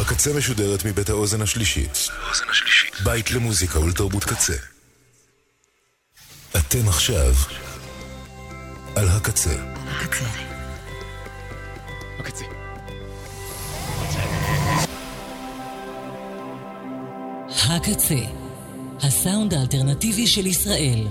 הקצה משודרת מבית האוזן השלישית. בית למוזיקה ולתרבות קצה. אתם עכשיו על הקצה. הקצה. הקצה, הסאונד האלטרנטיבי של ישראל.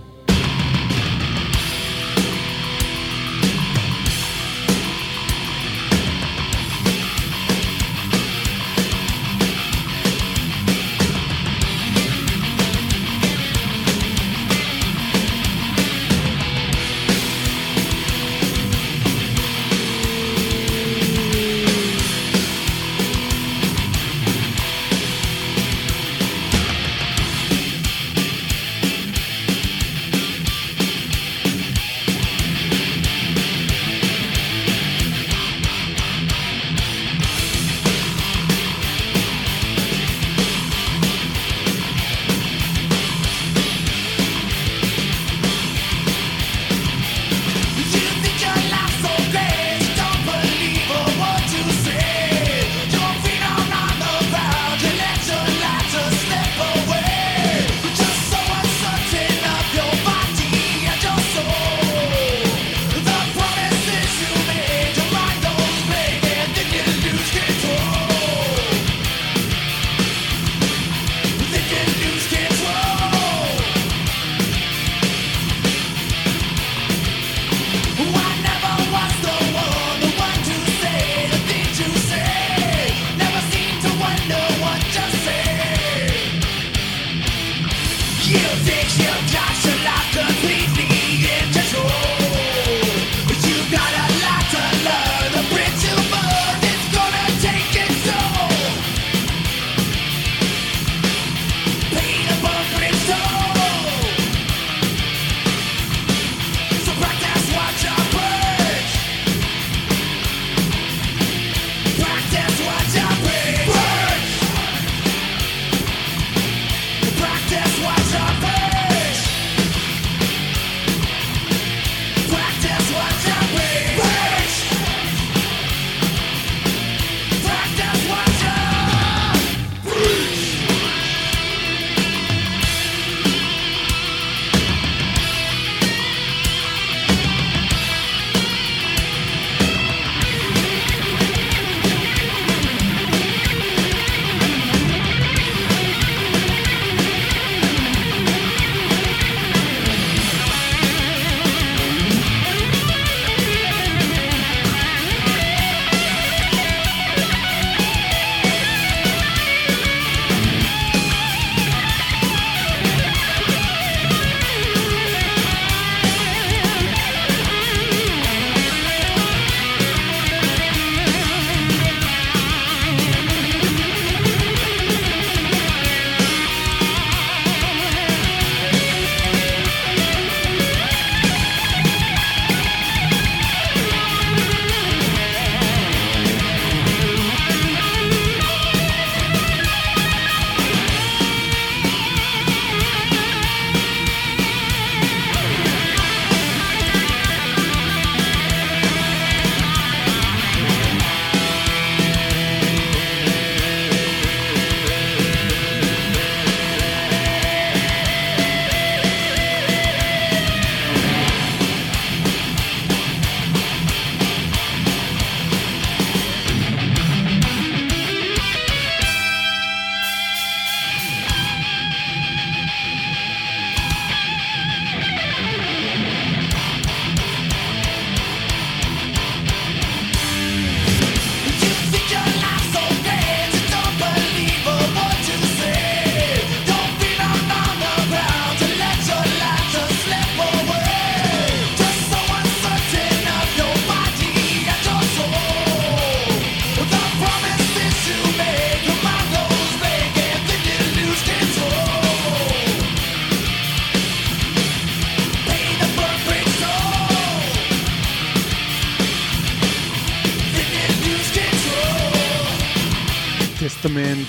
טסטמנט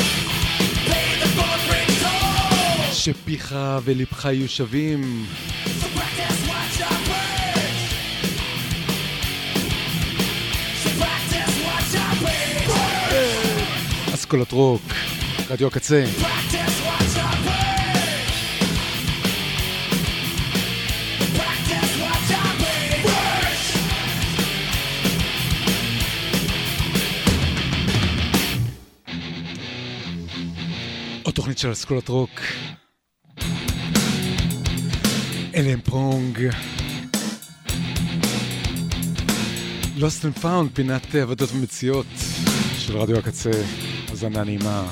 שפיך ולבך יהיו שווים. אסכולת רוק, רדיו הקצה. עוד תוכנית של אסכולת רוק. אלם פרונג. Lost and Found, פינת עבודות ומציאות של רדיו הקצה. הזנה נעימה.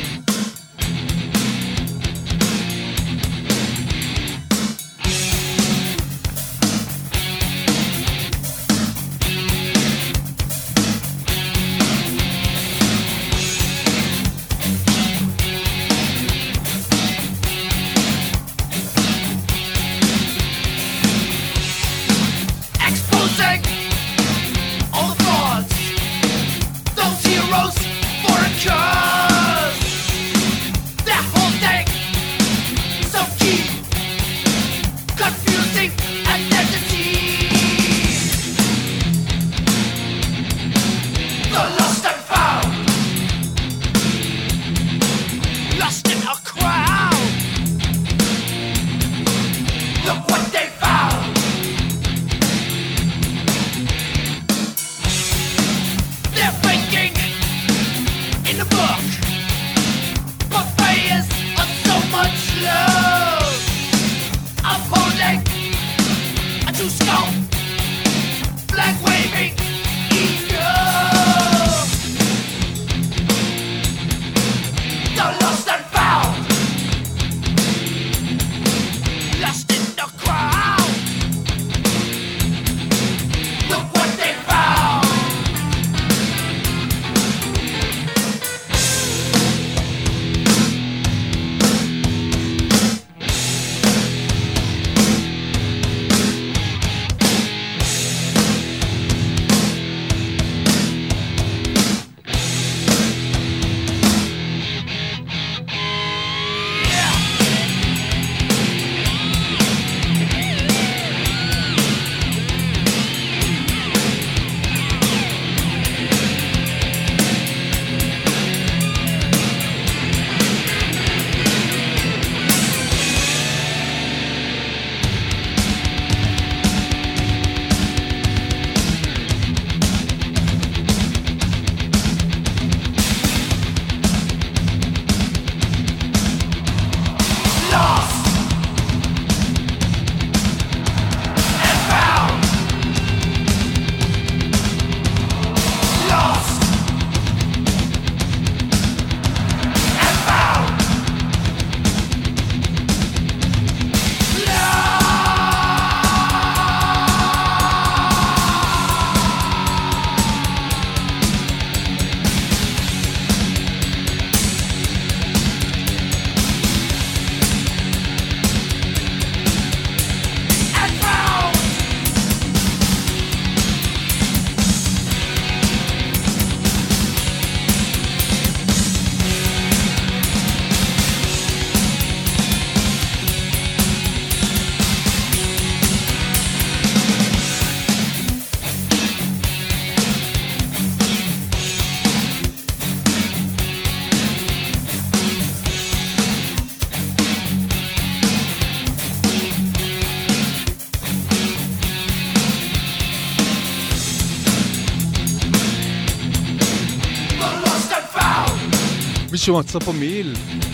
מישהו מצא פה מעיל?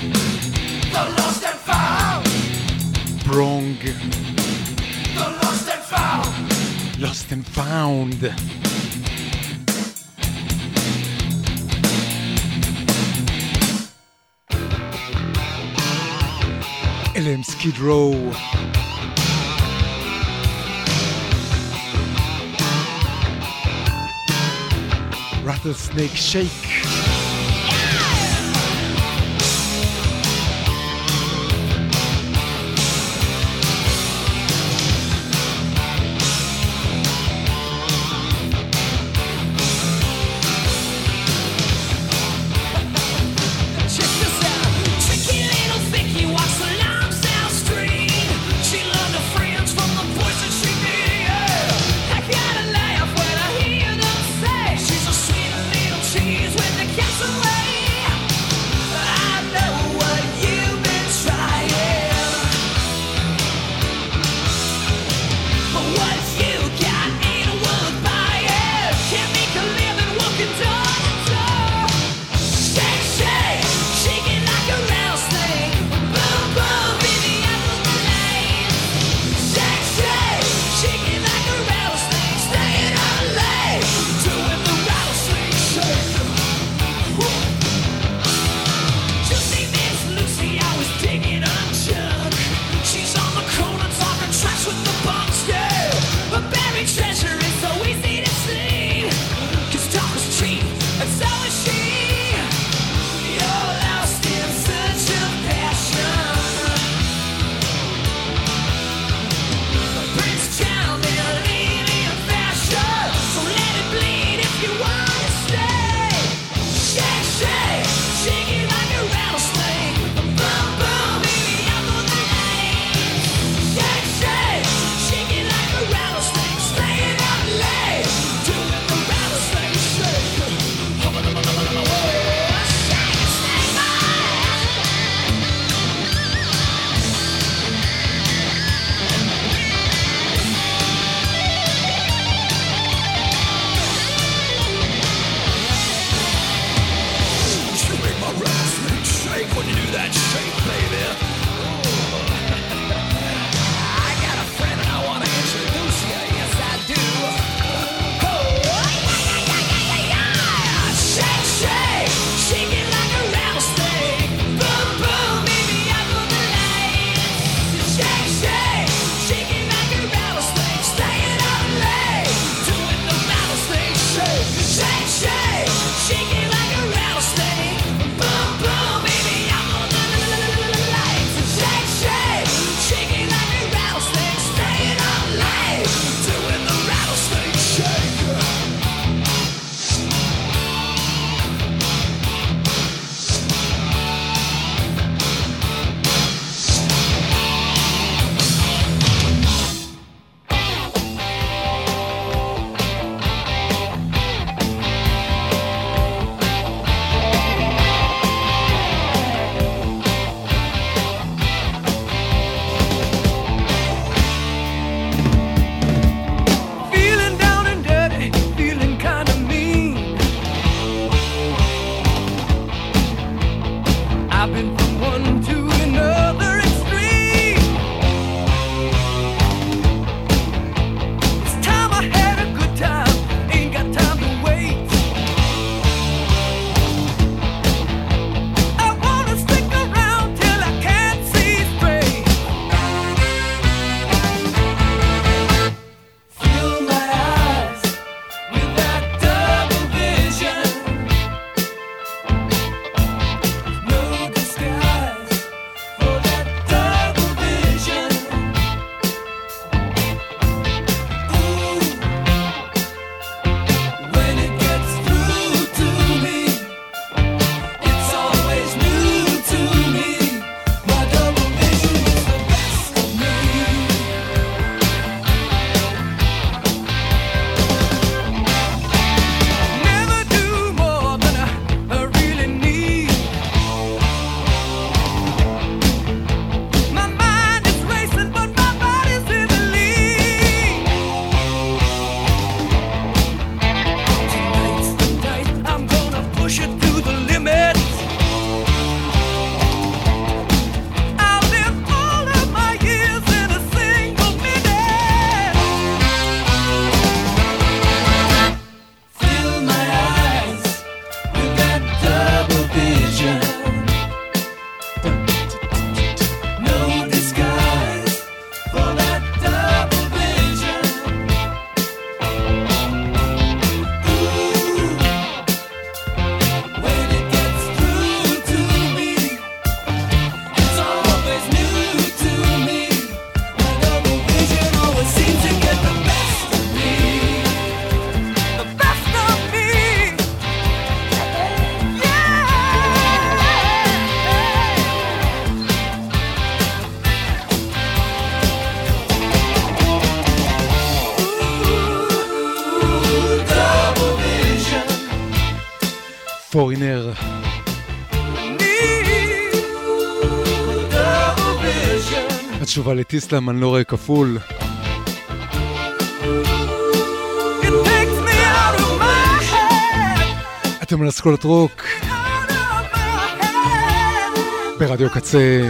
ברונג. Lost and Found. אלה הם סקיד רו. Rattlesnake Shake. Cheese with the cat. פורינר. התשובה לטיסלאם, אני לא רואה כפול. אתם על אסכולת רוק ברדיו קצה.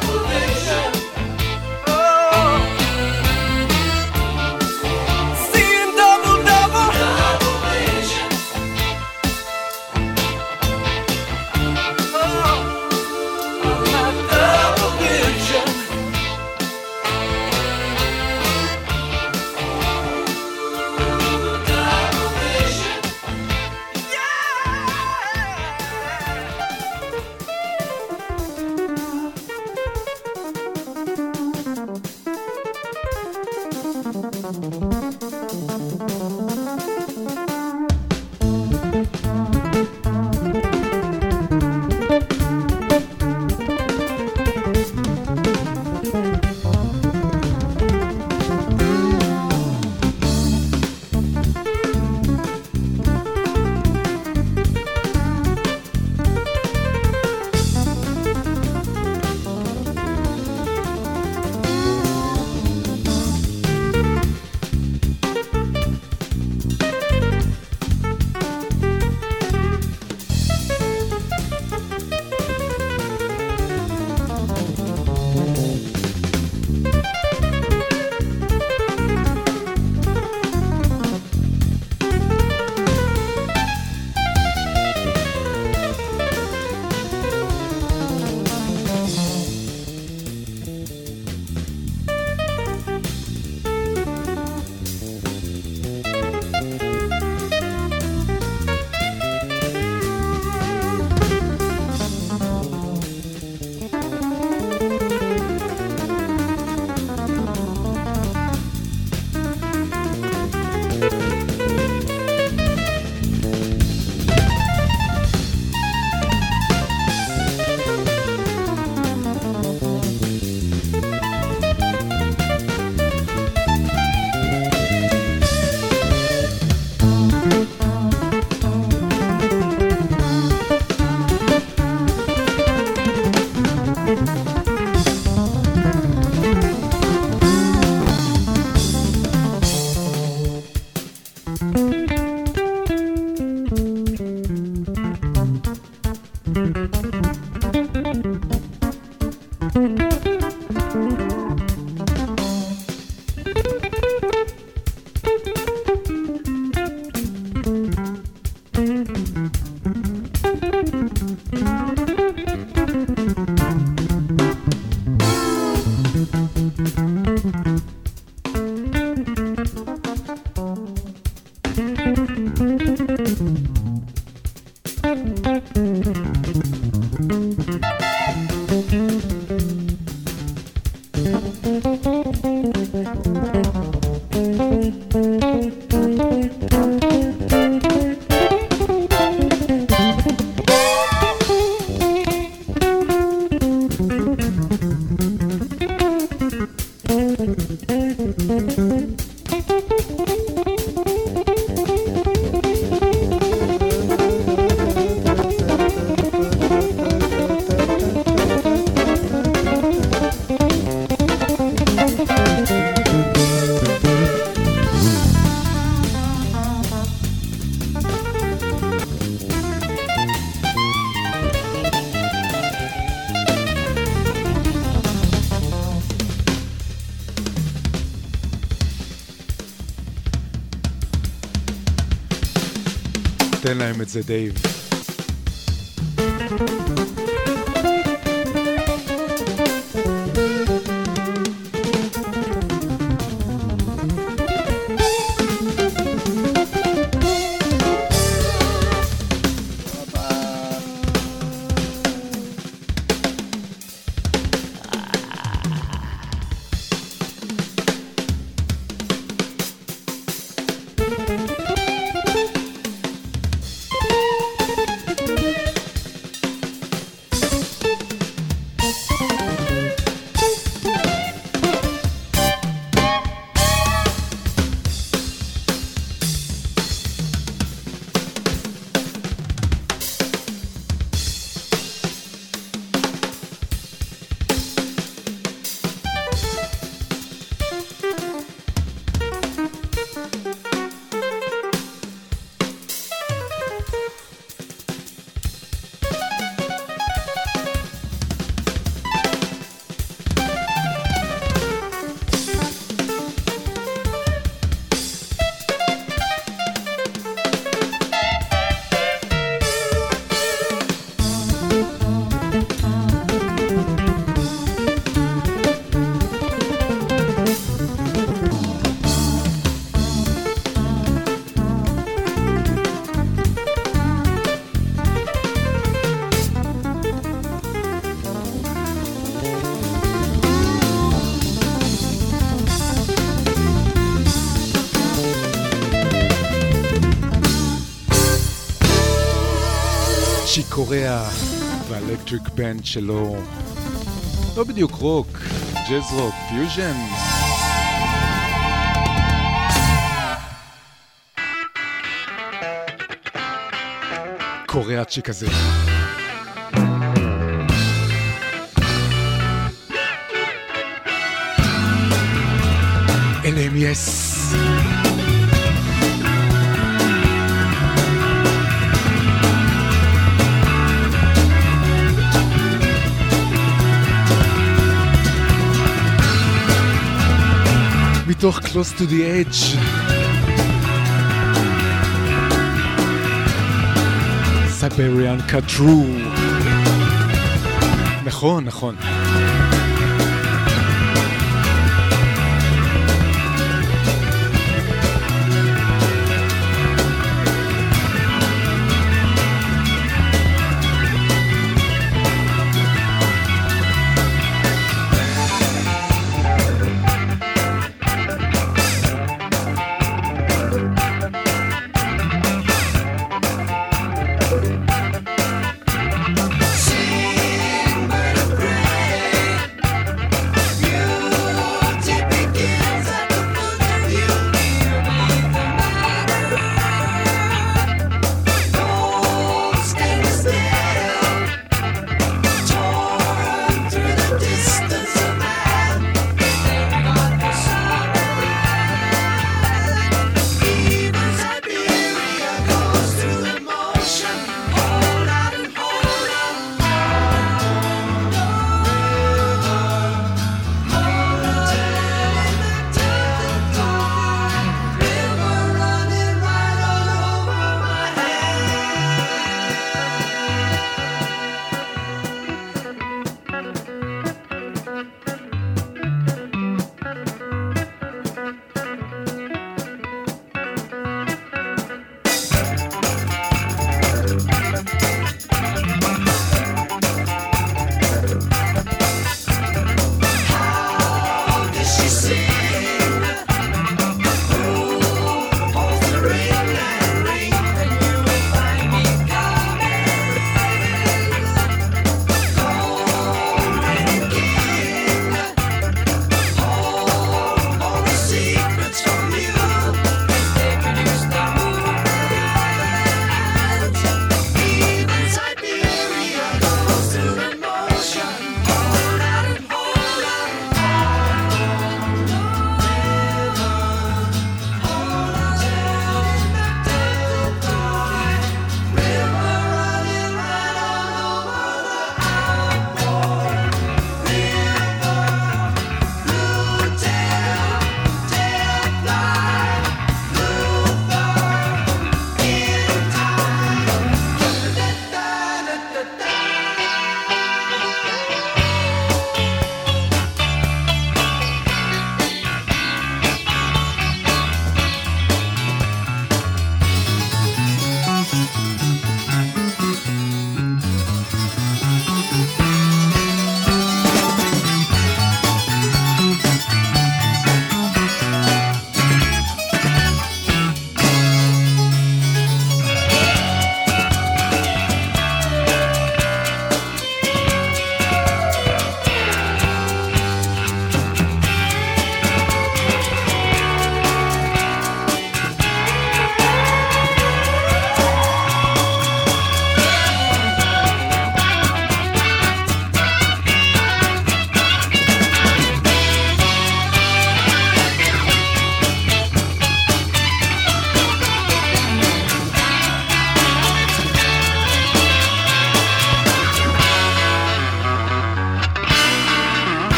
תן להם את זה, דייב. צ'יק קוריאה והאלקטריק בנד שלו, לא בדיוק רוק, ג'אז רוק, פיוז'ן. קוריאצ'י כזה. אליהם יס. מתוך Close to the Edge. Siberian Kadru. נכון, נכון. Sing, but a prayer.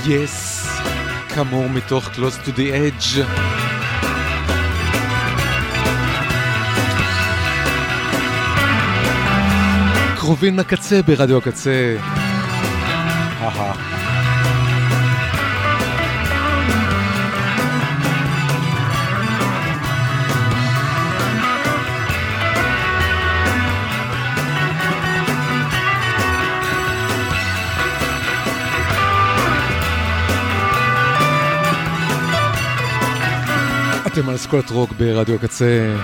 Yes, כאמור מתוך Close to the Edge. קרובים לקצה ברדיו הקצה. אתם על אסכולת רוק ברדיו הקצה.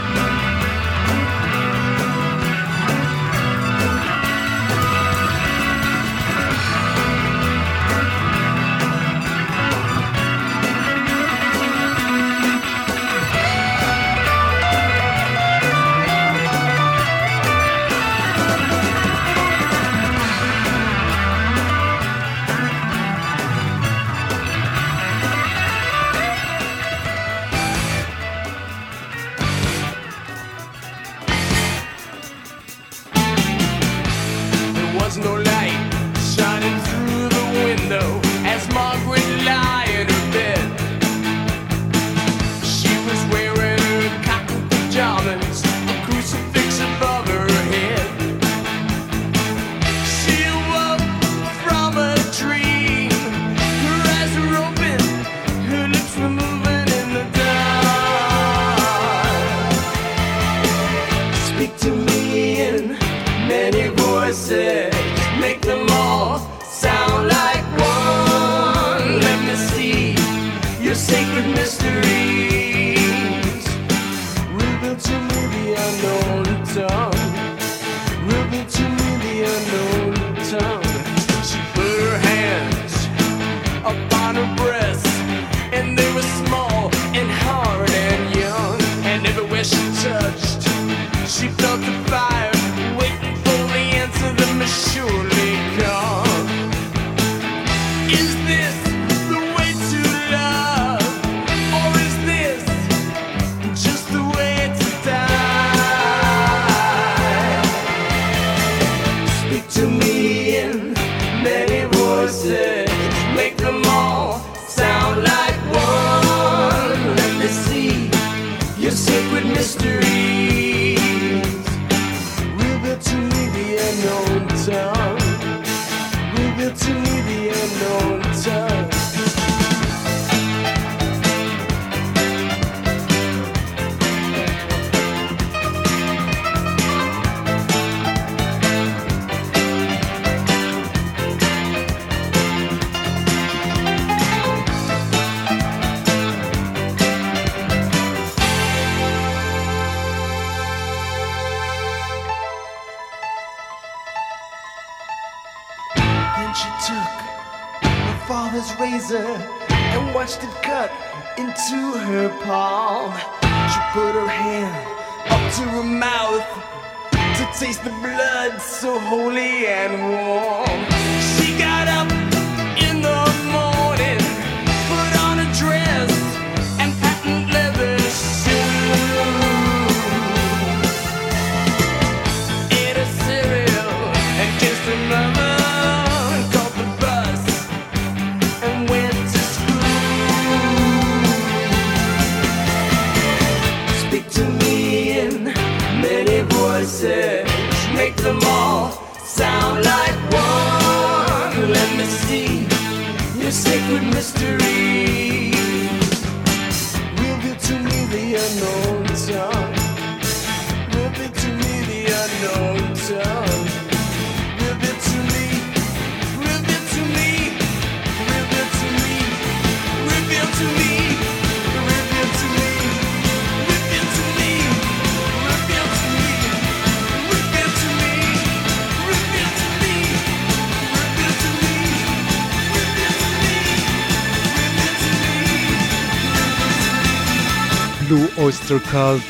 אויסטר קאלט.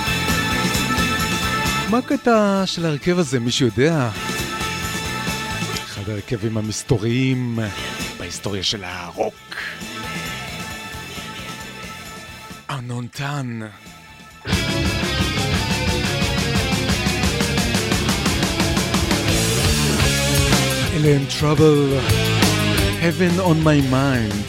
מה הקטע של הרכב הזה? מישהו יודע? אחד הרכבים המסתוריים בהיסטוריה של הרוק. Unknown Town. אלה הם Trouble, Heaven on my mind.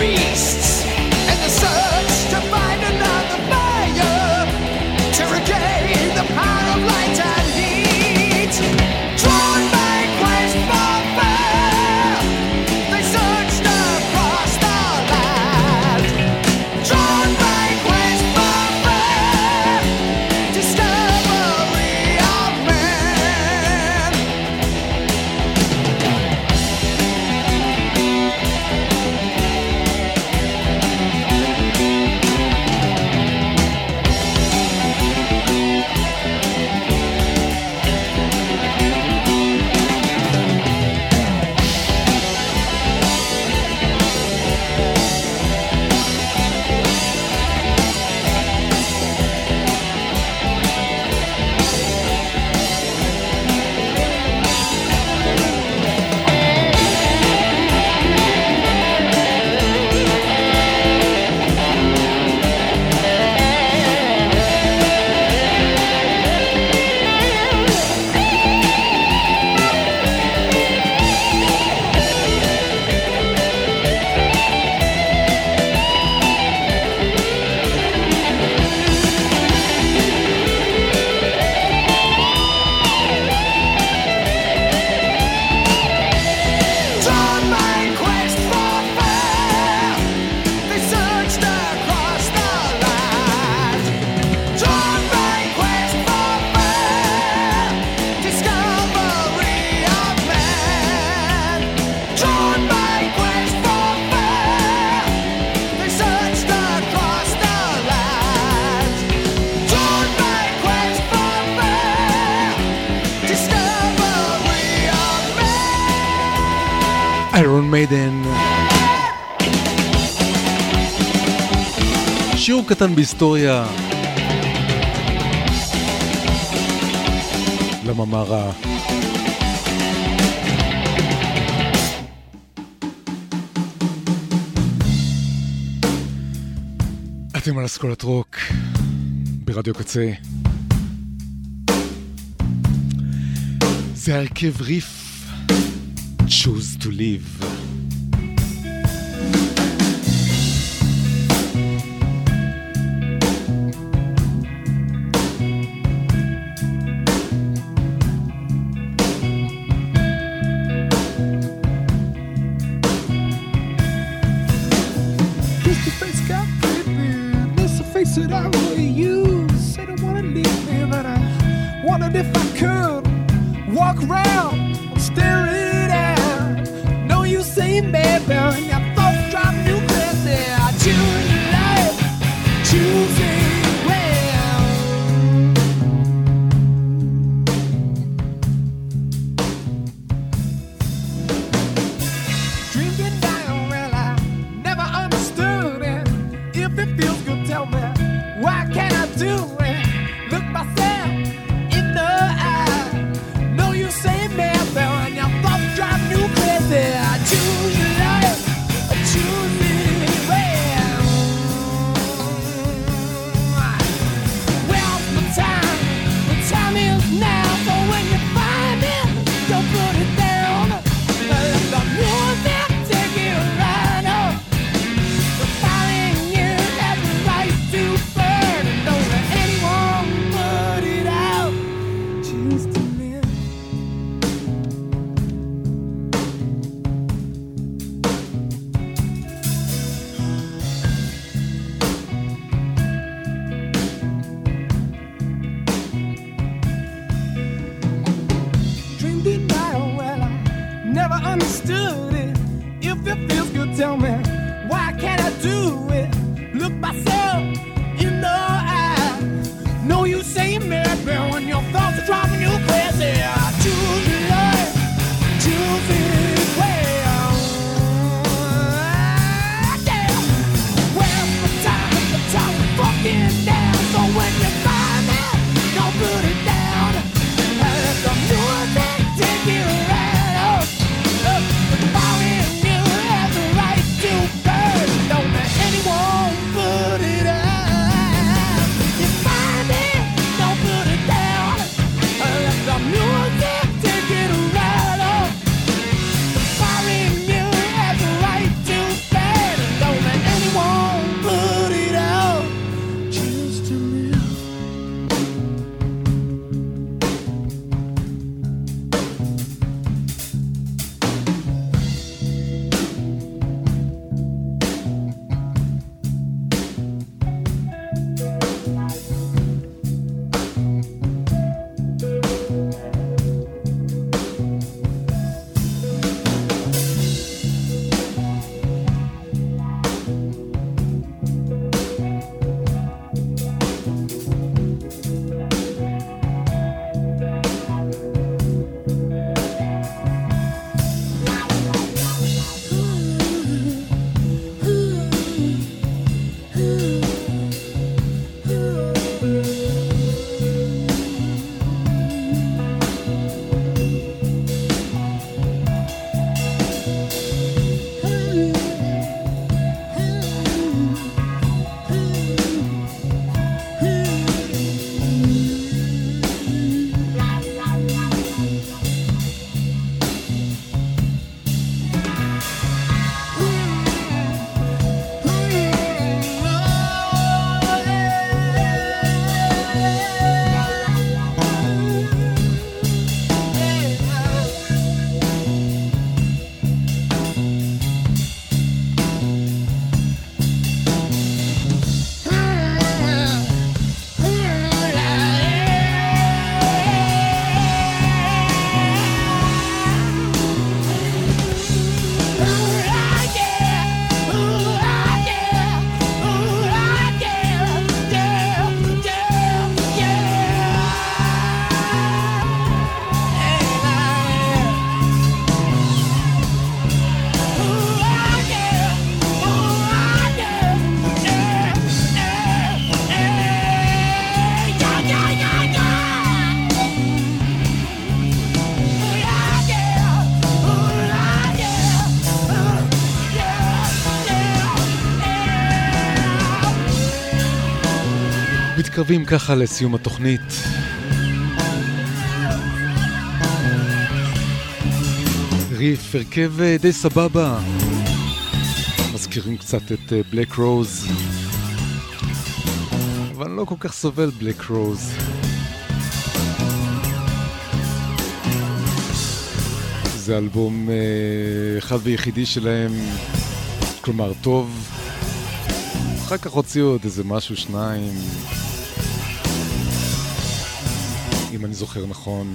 beasts and the search to find another fire to regain the power of light and heat. Drawn by quest for fire, they searched across the land. Drawn by quest for fire, discovery of man. Drawn by quest for fire, they searched across the land. Drawn by quest for fire, discovery of man. Drawn by quest for fire, they searched across the land. Drawn by quest for fire, discovery of man. איירון מיידן. שיעור קטן בהיסטוריה. לממרה. אתם על אסכולת רוק ברדיו קצה. זה הרכב ריף. Choose to live. This the face got creepy. This the face that I really use. Said I wanna leave me, but I wondered if I could walk around, stare it out. No, you say, baby, and your thoughts drive you crazy. I choose life, choosing well. Drinking down, well, I never understood it. If it feels good, tell me, why can't I do it? Look myself in the eye. No, you say, baby, and your thoughts drive you crazy. I choose life, I choose it well. Where's the time? The time is now. So when you find it, don't put it down. Let the music take you right up. The fire in you has the right to burn, and don't let anyone put it out. Choose to live. Dreamed it right, well, I never understood it. If it feels good, tell me, why can't I do it? Look myself in the eye. No, you say maybe when your thoughts are driving you crazy. I choose life, choose it well. Yeah. Where's the time? The time is fucking down. So when you find it, don't put it down. Let the music take you right up. The fire in you has the right to burn. Don't let anyone put it out. You find it, מתקרבים ככה לסיום התוכנית. ריף, הרכב די סבבה. מזכירים קצת את בלק רוז. אבל אני לא כל כך סובל בלק רוז. זה אלבום אחד ויחידי שלהם, כלומר טוב. אחר כך הוציאו עוד איזה משהו, שניים, אם אני זוכר נכון.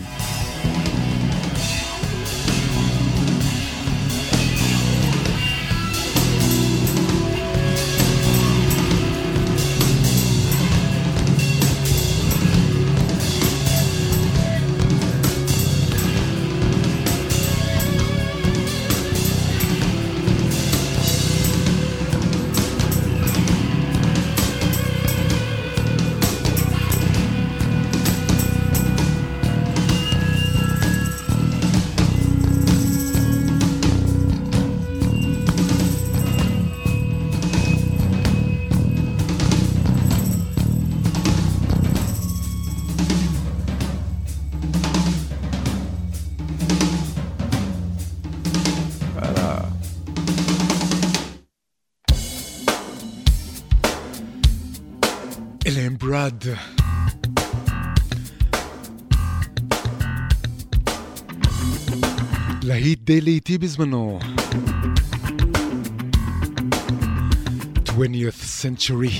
ברד. להיט די לאיטי בזמנו. 20th century.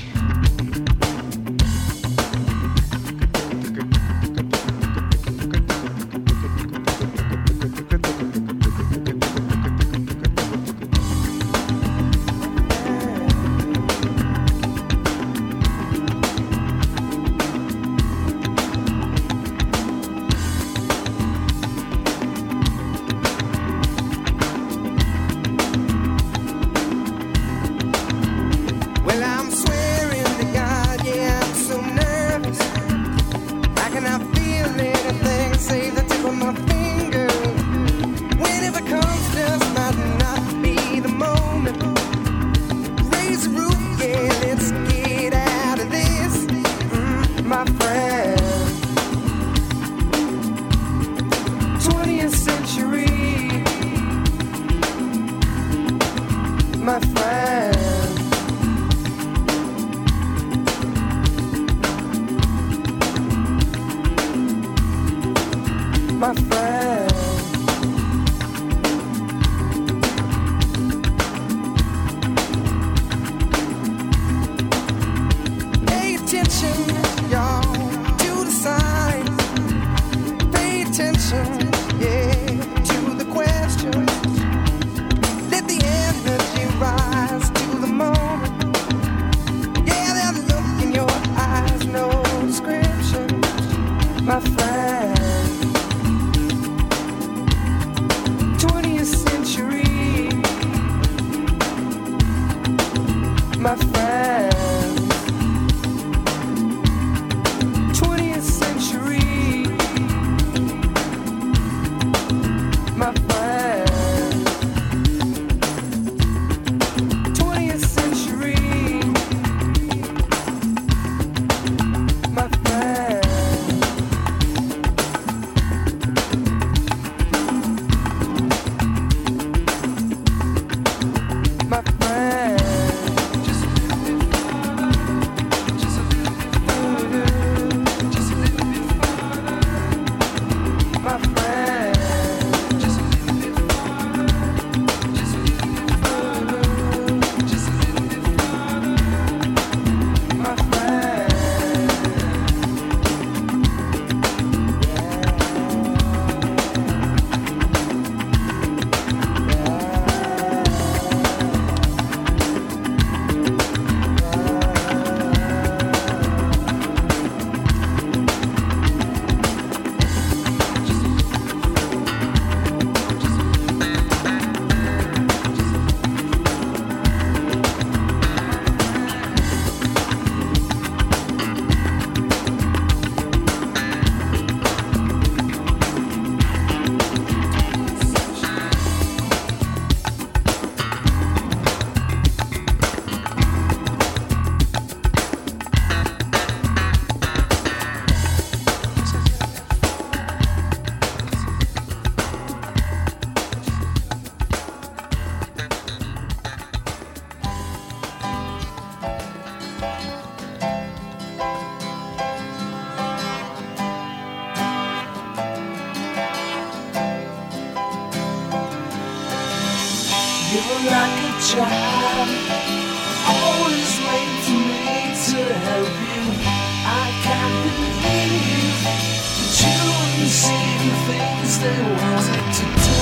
try. Always wait for me to help you. I can't believe that you wouldn't see the things they wanted to do.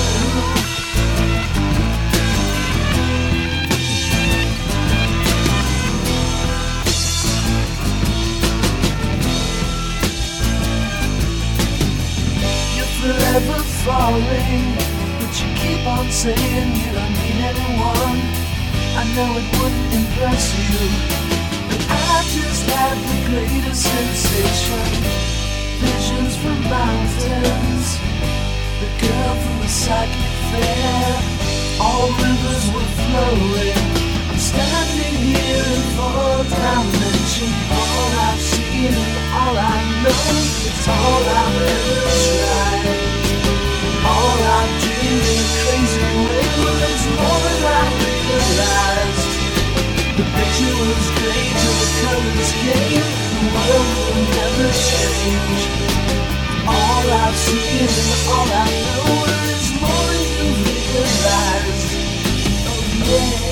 You're forever falling, but you keep on saying you don't need anyone. I know it wouldn't impress you, but I just had the greatest sensation. Visions from mountains, the girl from the psychic fair. All rivers were flowing. I'm standing here in fourth dimension. All I've seen and all I know, it's all I've ever tried. All I've dreamed in a crazy way, well, it's more than I realized. The picture was great till the colors came. The world will never change. All I've seen and all I know is more than you realize. Oh yeah.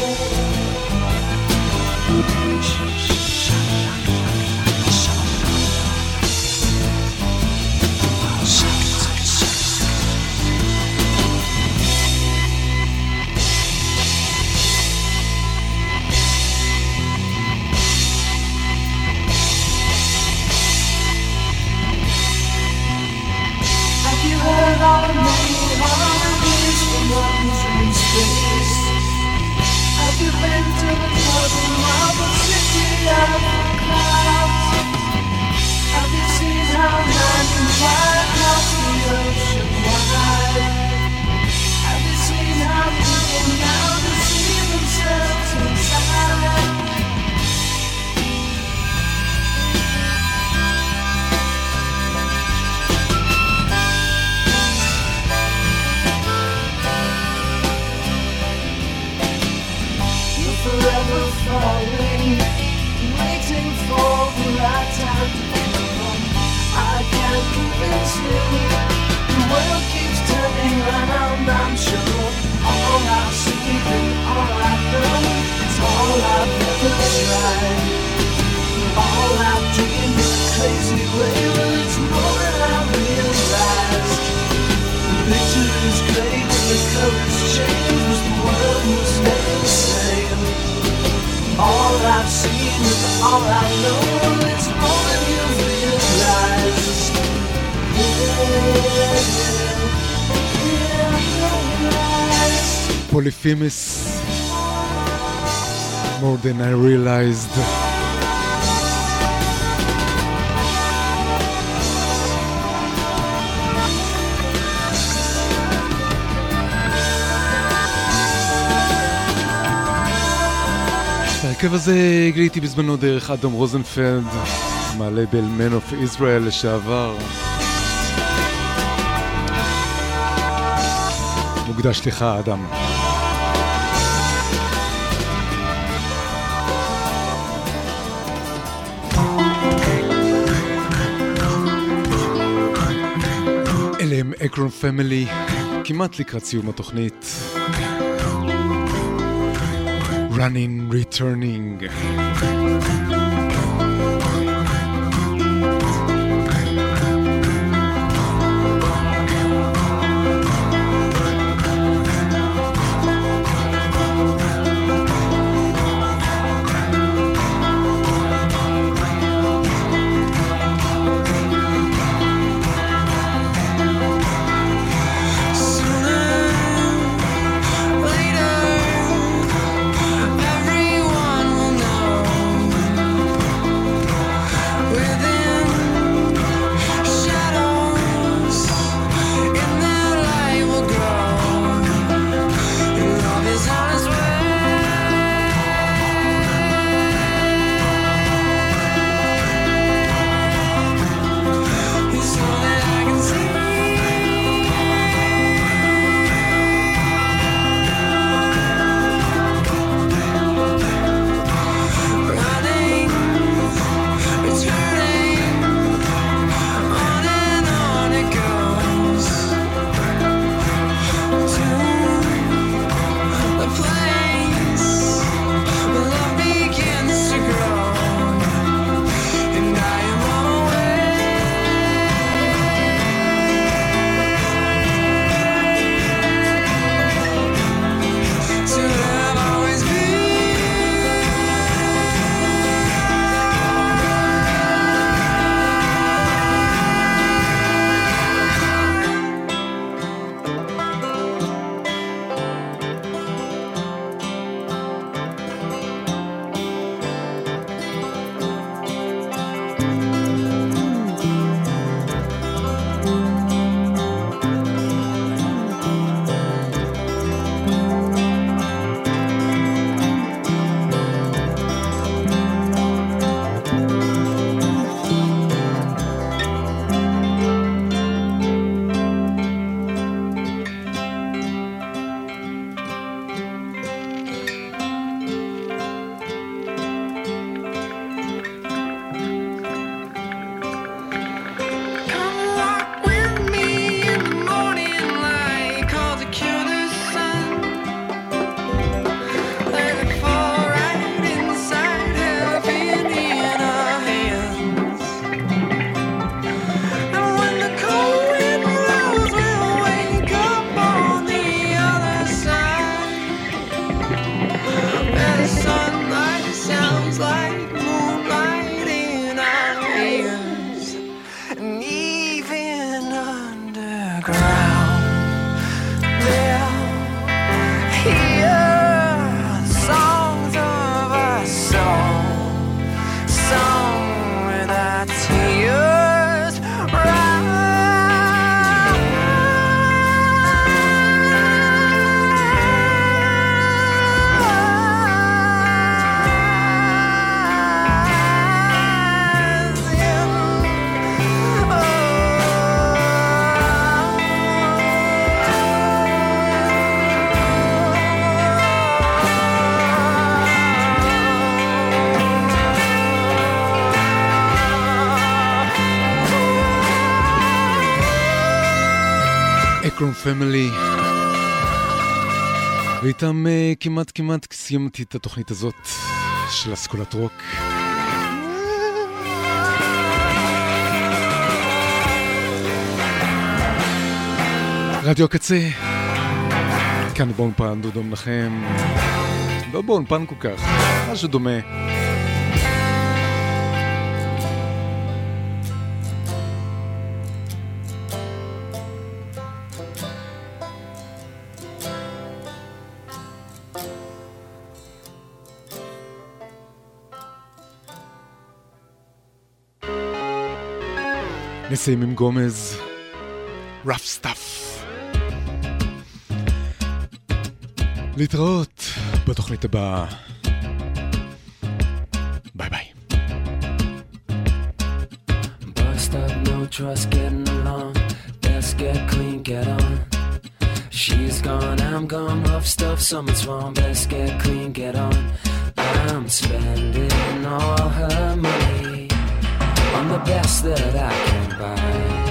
All the many harmonies from lungs in space. Have you been to the bottom of the city of the clouds? Have you seen how man can fly across the ocean wide? Have you seen how people now deceive themselves inside? Forever falling, waiting for the right time to come. I can't convince you. The world keeps turning round, I'm sure. All I've seen and all I know, it's all I've ever tried. All I've dreamed in a crazy way, well, it's more than I realized. The picture is great and the colors change, the world will stay the same. All I've seen is all I know, it's more than you realize. Polyphemus, more than I realized. הרכב הזה גיליתי בזמנו דרך אדם רוזנפלד, מהלייבל Man of Israel לשעבר. מוקדש לך, אדם. אלה הם אקרון פמילי, כמעט לקראת סיום התוכנית. Running, returning. Everyone will know פמילי. ואיתם כמעט סיימתי את התוכנית הזאת של אסכולת רוק. רדיו הקצה, כאן באולפן דודו מנחם, לא באולפן כל כך, משהו דומה. נסיים עם גומז, rough stuff. להתראות בתוכנית הבאה. ביי ביי. Bust up, no trust, getting along. Let's get clean, get on. She's gone, I'm gone, rough stuff, something's wrong. Let's get clean, get on. I'm spending all her money on the best that I can buy.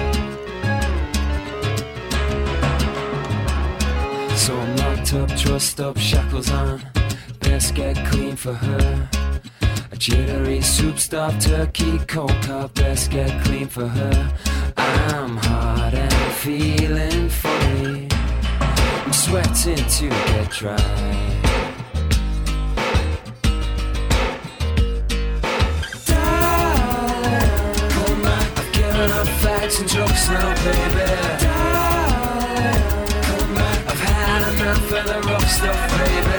So I'm locked up, trust up, shackles on. Best get clean for her. A jittery soup stop, turkey, cold cup. Best get clean for her. I'm hot and feeling funny. I'm sweating to get dry. Enough facts and jokes now, baby. I've had enough of the rough stuff, baby.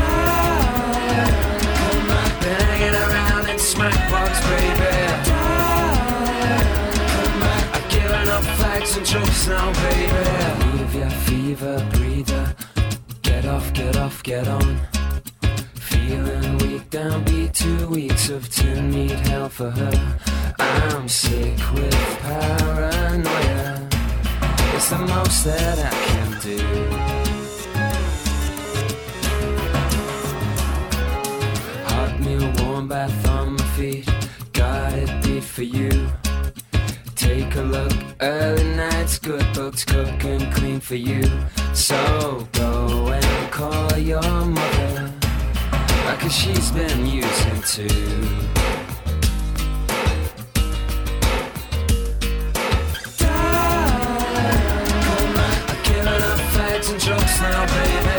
Been hanging around in smackbox, baby. I've given up facts and jokes now, baby. Leave your fever breather. Get off, get off, get on. Feeling weak, down beat 2 weeks of tin, need help for her. I'm sick with paranoia. It's the most that I can do. Hot meal, warm bath on my feet. Got it beat for you. Take a look, early nights, good books, cook and clean for you. So go and call your mother, 'cause she's been using too. And jokes now, baby.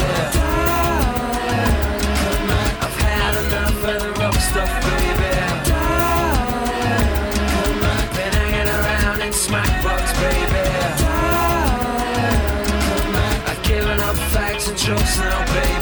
I've had enough of the rough stuff, baby. Been hanging around in smackbox, baby. I've given up facts and jokes now, baby.